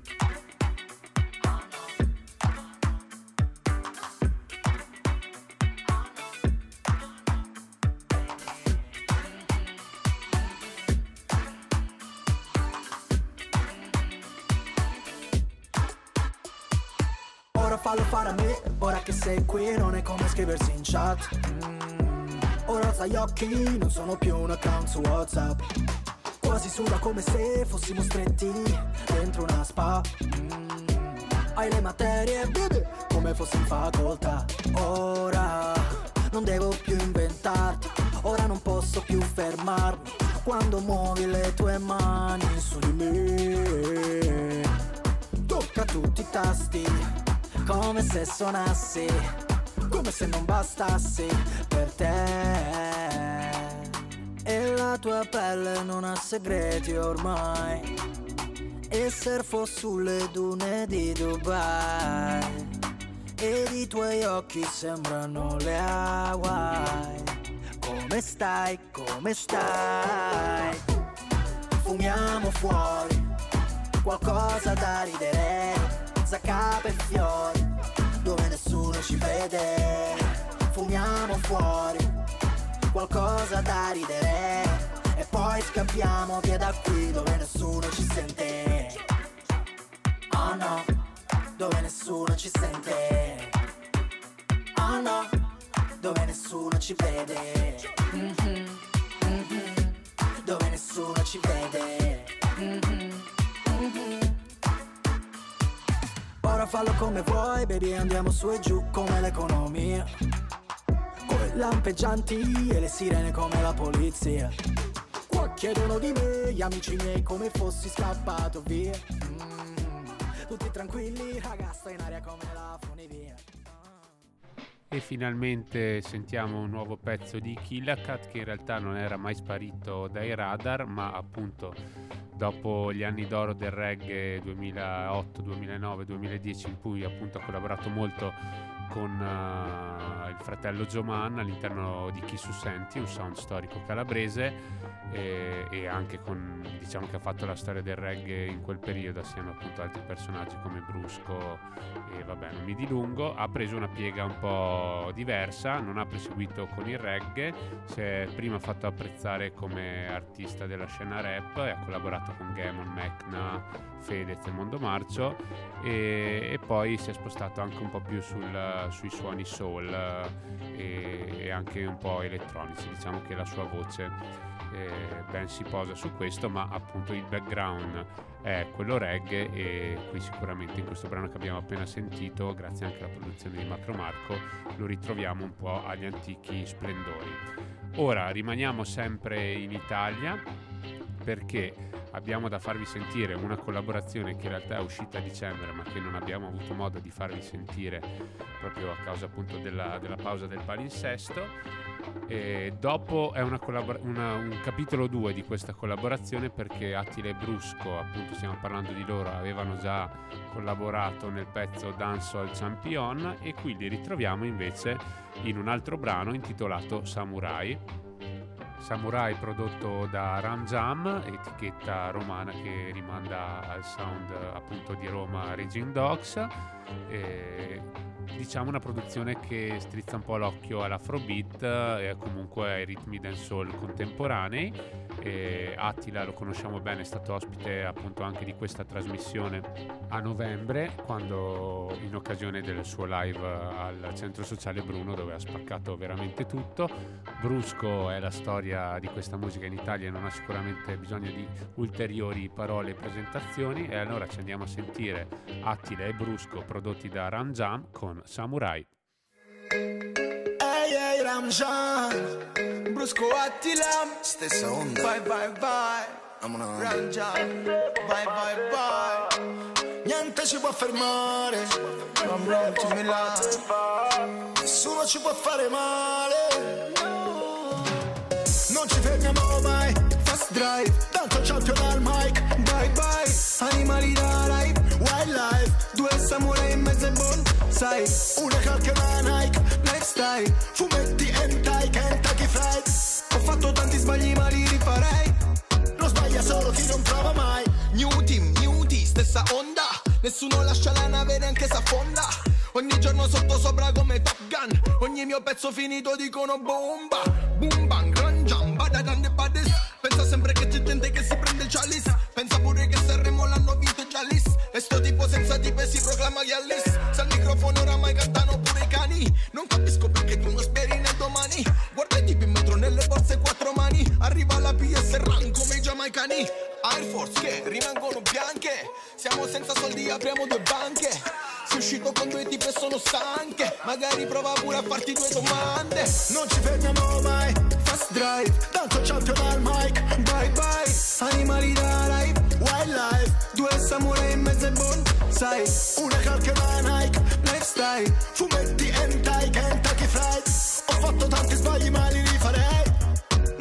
Fallo fare a me, ora che sei qui non è come scriversi in chat. Ora alza gli occhi, non sono più un account su WhatsApp. Quasi suda come se fossimo stretti dentro una spa. Hai le materie, baby, come fossi in facoltà. Ora non devo più inventarti, ora non posso più fermarmi quando muovi le tue mani su di me. Tocca tutti i tasti come se suonassi, come se non bastassi per te. E la tua pelle non ha segreti ormai, e surfo sulle dune di Dubai. ed i tuoi occhi sembrano le Hawaii. Come stai, come stai? Fumiamo fuori, qualcosa da ridere, zaccape e fiori, dove nessuno ci vede. Fumiamo fuori, qualcosa da ridere, e poi scappiamo via da qui dove nessuno ci sente. Oh no, dove nessuno ci sente. Oh no, dove nessuno ci vede. Dove nessuno ci vede. Ora fallo come vuoi, baby, andiamo su e giù come l'economia, con lampeggianti e le sirene come la polizia. Qua chiedono di me gli amici miei come fossi scappato via. Tutti tranquilli, raga, sto in aria come la funivia. E finalmente sentiamo un nuovo pezzo di Killacat, che in realtà non era mai sparito dai radar, ma appunto dopo gli anni d'oro del reggae 2008, 2009, 2010, in cui appunto ha collaborato molto con il fratello Joman all'interno di Chi su Senti, un sound storico calabrese, e anche con, diciamo che ha fatto la storia del reggae in quel periodo assieme appunto ad altri personaggi come Brusco, e vabbè, non mi dilungo. Ha preso una piega un po' diversa, non ha proseguito con il reggae, si è prima fatto apprezzare come artista della scena rap e ha collaborato con Gamon, Mecna, Fedez e Mondo Marcio, e poi si è spostato anche un po' più sui suoni soul e anche un po' elettronici. Diciamo che la sua voce ben si posa su questo, ma appunto il background è quello reggae, e qui sicuramente in questo brano che abbiamo appena sentito, grazie anche alla produzione di Macro Marco, lo ritroviamo un po' agli antichi splendori. Ora rimaniamo sempre in Italia, perché abbiamo da farvi sentire una collaborazione che in realtà è uscita a dicembre, ma che non abbiamo avuto modo di farvi sentire proprio a causa appunto della pausa del palinsesto. E dopo è un capitolo 2 di questa collaborazione, perché Attila e Brusco, appunto stiamo parlando di loro, avevano già collaborato nel pezzo Dancehall Champion, e qui li ritroviamo invece in un altro brano intitolato Samurai, prodotto da Ram Jam, etichetta romana che rimanda al sound appunto di Roma Raging Dogs. Diciamo una produzione che strizza un po' l'occhio all'afrobeat e comunque ai ritmi dancehall contemporanei. Attila lo conosciamo bene, è stato ospite appunto anche di questa trasmissione a novembre, quando in occasione del suo live al Centro Sociale Bruno, dove ha spaccato veramente tutto. Brusco è la storia di questa musica in Italia e non ha sicuramente bisogno di ulteriori parole e presentazioni, e allora ci andiamo a sentire Attila e Brusco prodotti da Ram Jam con Samurai. Ehi Ram Jam, Brusco Attila, stessa onda. Vai vai vai, Ram Jam, vai vai vai. Niente ci può fermare, Ram Ram to Milan. Nessuno ci può fare male. Non ci fermiamo mai, fast drive, tanto champion al mic. Bye bye, animali da live, wildlife. Due samurai in mezzo ai bonsai, una calca e una Nike, lifestyle, fumetti hentai, Kentucky Fried. Ho fatto tanti sbagli ma li rifarei. Non sbaglia solo chi non prova mai. New team, stessa onda. Nessuno lascia la nave neanche s'affonda. Ogni giorno sotto sopra come Top Gun. Ogni mio pezzo finito dicono bomba. Boom bang, run jam, badadan de badis. Pensa sempre che c'è gente che si prende il chalice. Pensa pure che Sanremo l'hanno vinto già Alice. E sto tipo senza tipe si proclama Alice. Se al microfono oramai cantano pure i cani. Non capisco perché tu non speri nel domani. Guarda i tipi in metro nelle borse quattro mani. Arriva la PS Run come i giamaicani. Air Force che rimangono bianche. Siamo senza soldi, apriamo due banche. Sei uscito con due tipe e sono stanche. Magari prova pure a farti due domande. Non ci fermiamo mai, fast drive, tanto champion al mic. Bye bye, animali da live, wildlife. Due samurai in mezzo ai bonsai, una calca e una Nike, lifestyle, fumetti hentai, Kentucky Fried. Ho fatto tanti sbagli ma li rifarei. Non sbaglia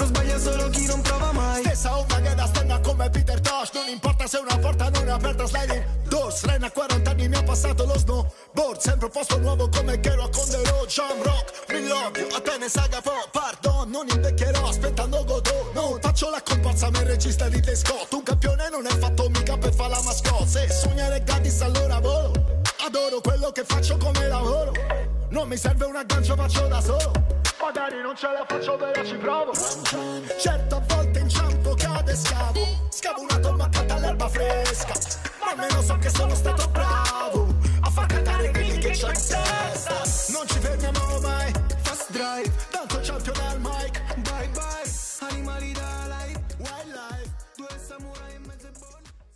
solo chi non prova mai. Stessa onda che da stenna come Peter Tosh. Non importa se una porta non è aperta, sliding doors. Ren a 40 anni mi ha passato lo snowboard. Sempre un posto nuovo come Kerouac con The Road. Jam rock, mi l'odio, Atene saga po'. Pardon, non invecchierò aspettando Godot. Non faccio la comparsa ma il regista di The Scott. Un campione non è fatto mica per fare la mascotte. Se sognare gratis allora volo. Adoro quello che faccio come lavoro. Non mi serve un aggancio, faccio da solo. Magari non ce la faccio, però ci provo. Certo a volte inciampo, cade, scavo. Scavo una tomba accanto all'erba fresca. Ma almeno so che sono stato bravo a far cantare quelli che c'ho in testa. Non ci fermiamo mai, fast drive. Tanto champion al mic, bye bye. Animali da live, wildlife. Due samurai in mezzo e buoni.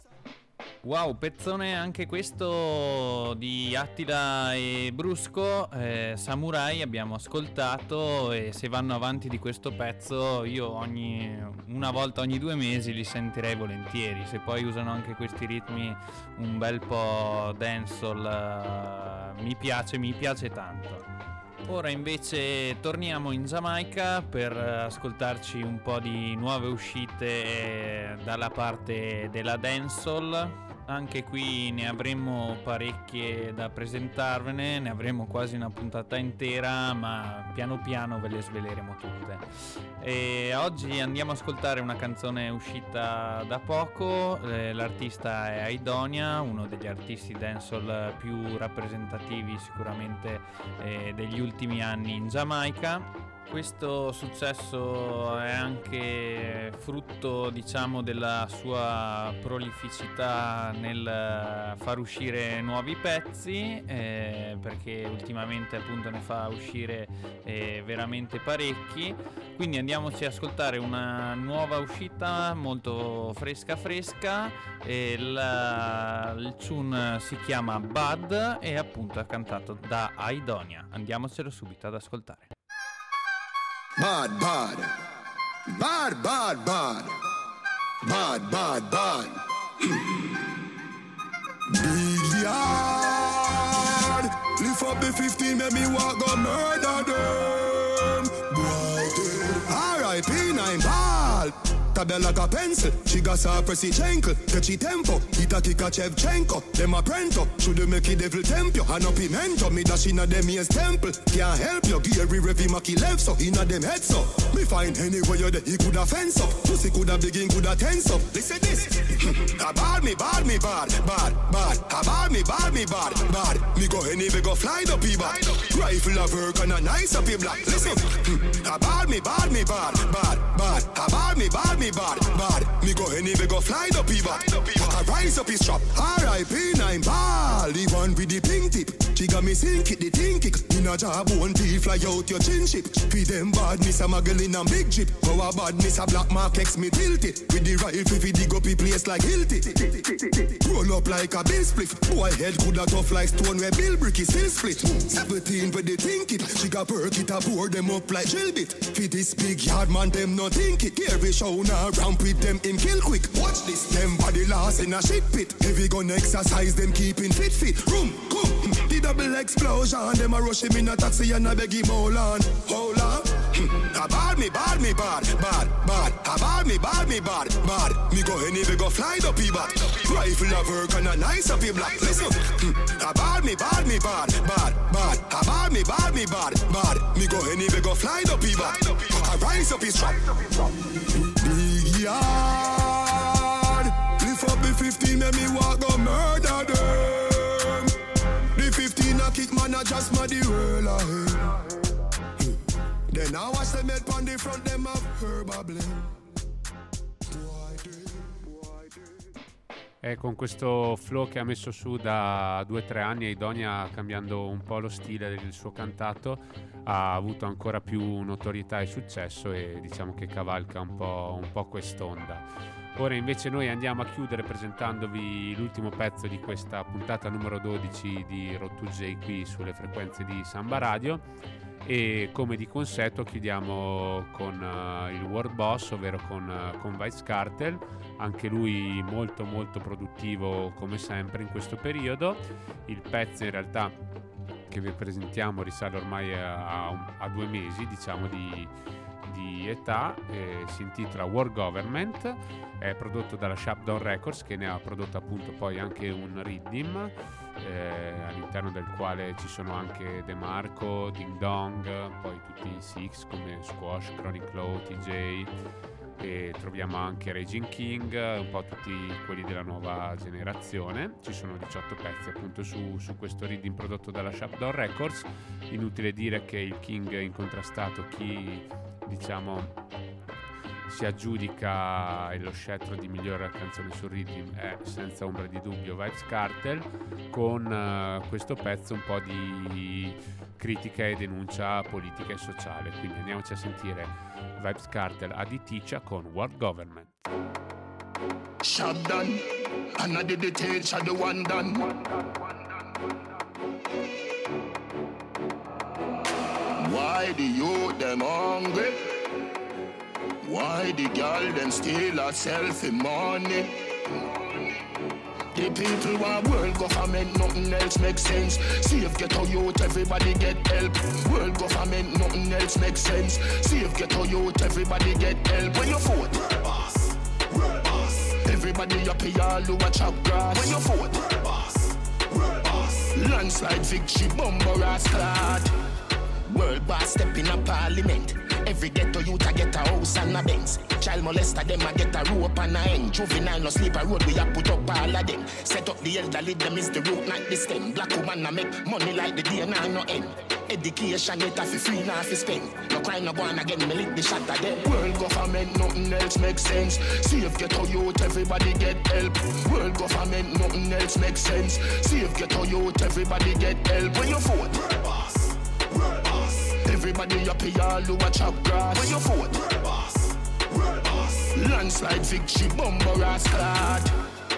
Wow, pezzone anche questo di Attila e Brusco. Samurai abbiamo ascoltato, e se vanno avanti di questo pezzo io una volta ogni 2 mesi li sentirei volentieri. Se poi usano anche questi ritmi un bel po' dancehall, mi piace tanto. Ora invece torniamo in Giamaica per ascoltarci un po' di nuove uscite dalla parte della dancehall. Anche qui ne avremo parecchie da presentarvene, ne avremo quasi una puntata intera, ma piano piano ve le sveleremo tutte. E oggi andiamo ad ascoltare una canzone uscita da poco. L'artista è Aidonia, uno degli artisti dancehall più rappresentativi sicuramente degli ultimi anni in Giamaica. Questo successo è anche frutto, diciamo, della sua prolificità nel far uscire nuovi pezzi, perché ultimamente appunto ne fa uscire veramente parecchi. Quindi andiamoci ad ascoltare una nuova uscita molto fresca. Il tune si chiama Bad e appunto è cantato da Aidonia. Andiamocelo subito ad ascoltare. Bad, bad, bad, bad, bad, bad, bad, bad. Big yard, lift up the 15, make me walk go murder them. Boy, R.I.P. 9 ball. Tabella like a pencil, she got her pressy chankle. Catchy tempo, ita kika Chevchenko. Dem a prento, should make it devil temp you. And up pimento, me dash inna dem ears temple. Can't help you, Gary Revy Maki left so inna dem head so. Me find anywhere you there, he coulda fence up. Pussy coulda begin, coulda tense up. Listen this, bad me, bad, bad. Bad me, bad. Me go anywhere, go fly the people. Rifle of work and a nice up black. Listen, bad me, bad. Bad me, bad. Me go anywhere, go fly the people. I rise up his trap. R.I.P. 9 ball. The one with the pink tip. She got me sink it, the thing kick. In a job, one teeth fly out your chin ship. Feed them badness, a muggle in a big jeep. Go a badness, a black mark X me tilt it. With the rifle, fi dig up a place like Hilti. Roll up like a bill spliff. Boy head coulda tough like stone where Bill Brick is still split. 17 with the think it. She got perk it, a pour them up like drill bit. Fi this big yard man, them no think it. Here we show now, ramp with them in kill quick. Watch this, them body lost in a shit pit. Heavy gun exercise, them keeping fit. Room, come. The double explosion, them a rush him in a taxi and a beg him hold on. Bad me, bad. Bad me go anywhere, go fly the people. Rifle of work and a nice up black. Listen, bad me, bad. Me go anywhere, go fly the people. I rise up his trap. Big yard, lift up the 15, make me walk go murder them. The 15 a kick man a just mad the world ahead. Then I watch them head on the front, them have herb blame. E con questo flow che ha messo su da 2-3 anni, Aidonia, cambiando un po' lo stile del suo cantato, ha avuto ancora più notorietà e successo, e diciamo che cavalca un po' quest'onda. Ora invece noi andiamo a chiudere presentandovi l'ultimo pezzo di questa puntata numero 12 di Road to J qui sulle frequenze di Samba Radio, e come di consueto chiudiamo con il World Boss, ovvero con Vybz Kartel, anche lui molto produttivo come sempre in questo periodo. Il pezzo in realtà che vi presentiamo risale ormai a 2 mesi, diciamo, di di età, si intitola War Government, è prodotto dalla Shutdown Records, che ne ha prodotto appunto poi anche un riddim, all'interno del quale ci sono anche De Marco, Ding Dong, poi tutti i Six come Squash, Chronic Law, TJ, e troviamo anche Raging King, un po' tutti quelli della nuova generazione. Ci sono 18 pezzi appunto su questo riddim prodotto dalla Shutdown Records. Inutile dire che il King incontrastato, chi diciamo si aggiudica lo scettro di miglior canzone sul riddim, è senza ombra di dubbio Vybz Kartel, con questo pezzo un po' di critica e denuncia politica e sociale. Quindi andiamoci a sentire Vybz Kartel a Ticha con World Government. Shotgun, and I did the teach of the one done. Why the youth them hungry? Why the girl them steal herself in money? The people want world government, nothing else makes sense. Save ghetto youth, everybody get help. World government, nothing else makes sense. Save ghetto youth, everybody get help. When you vote, world boss, world boss. Everybody up here, all who a chop grass. When you vote, world boss, world boss. Landslide victory, bumper ass clad. World boss step in a parliament. Every ghetto youth a get a house and a Benz. Child molester them a get a rope and a end. Juvenile no sleep a road, we a put up all of them. Set up the elderly, them is the root, not the stem. Black woman a make money like the day now no end. Education get a fi free now fi spend. No crime no go on again, me lick the shot of them. World government, nothing else makes sense. Save ghetto youth, everybody get help. World government, nothing else makes sense. Save ghetto youth, everybody get help. When you vote, world boss, world boss. Everybody up here, all who a chop grass. When you vote, world boss, world boss. Landslide victory, bumper ass clad.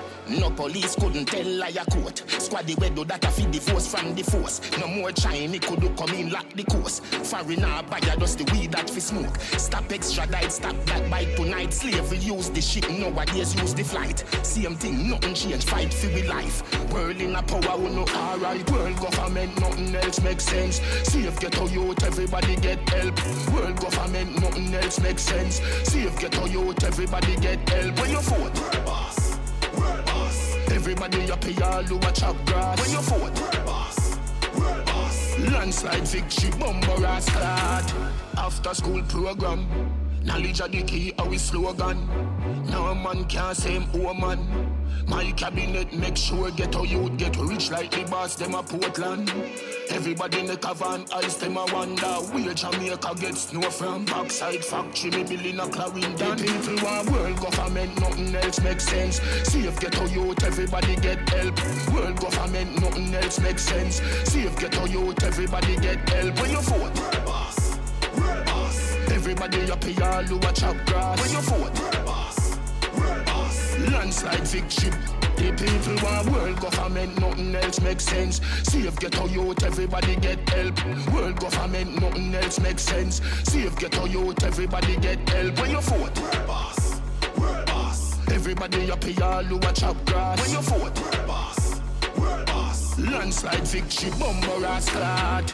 No police couldn't tell liar court. Squaddy we do that a feed the force from the force. No more Chinese could do come in lock the course. Foreigner buyer just the weed that fi smoke. Stop extradite, stop black bite tonight. Slavery use the ship, nowadays use the flight. Same thing, nothing change, fight for we life. World in a power, we no alright. World government, nothing else makes sense. Save ghetto youth, everybody get help. World government, nothing else makes sense. Save ghetto youth, everybody get help. When you vote, world boss, world boss. Everybody up here, all who a chop grass. When you vote, world boss, world boss. Landslide victory, bumper ass clad. After school program, knowledge of the key, our slogan. No man can say him woman. My cabinet make sure ghetto youth get rich like the boss, them a Portland. Everybody make a van ice, them a wonder where Jamaica get snow from. Backside factory, me building a Clarendon. The people want world government, nothing else makes sense. Save ghetto youth, everybody get help. World government, nothing else makes sense. Save ghetto youth, everybody get help. When you vote, world boss, world boss. Everybody up here, all who a chop grass. When you vote, world boss, world boss. Landslide victory. The people want world government, nothing else makes sense. Save ghetto youth, everybody get help. World government, nothing else makes sense. Save ghetto youth, everybody get help. When you vote, world boss, world boss. Everybody up here, all who a chop grass. When you vote, world boss, world boss. Landslide victory, bumper ass clad.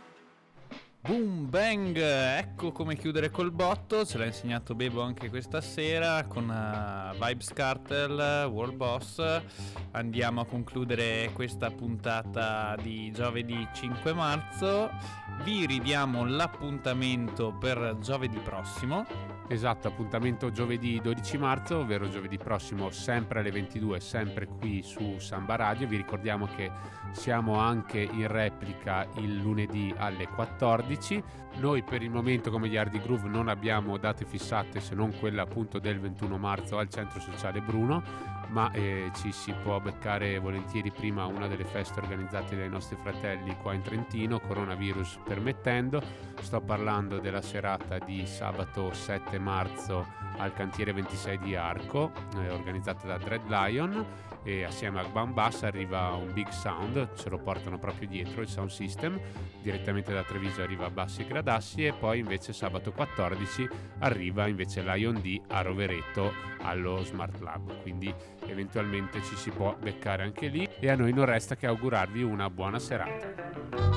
Boom bang, ecco come chiudere col botto, ce l'ha insegnato Bebo anche questa sera con Vybz Kartel, World Boss. Andiamo a concludere questa puntata di giovedì 5 marzo, vi ridiamo l'appuntamento per giovedì prossimo. Esatto, appuntamento giovedì 12 marzo, ovvero giovedì prossimo sempre alle 22, sempre qui su Samba Radio. Vi ricordiamo che siamo anche in replica il lunedì alle 14. Noi per il momento come gli Hardy Groove non abbiamo date fissate se non quella appunto del 21 marzo al Centro Sociale Bruno, ma ci si può beccare volentieri prima a una delle feste organizzate dai nostri fratelli qua in Trentino, coronavirus permettendo. Sto parlando della serata di sabato 7 marzo al cantiere 26 di Arco, organizzata da Dread Lion, e assieme a Bambas arriva un big sound, ce lo portano proprio dietro il sound system, direttamente da Treviso arriva Bassi e Gradassi, e poi invece sabato 14 arriva invece Lion D a Rovereto allo Smart Lab, quindi eventualmente ci si può beccare anche lì, e a noi non resta che augurarvi una buona serata.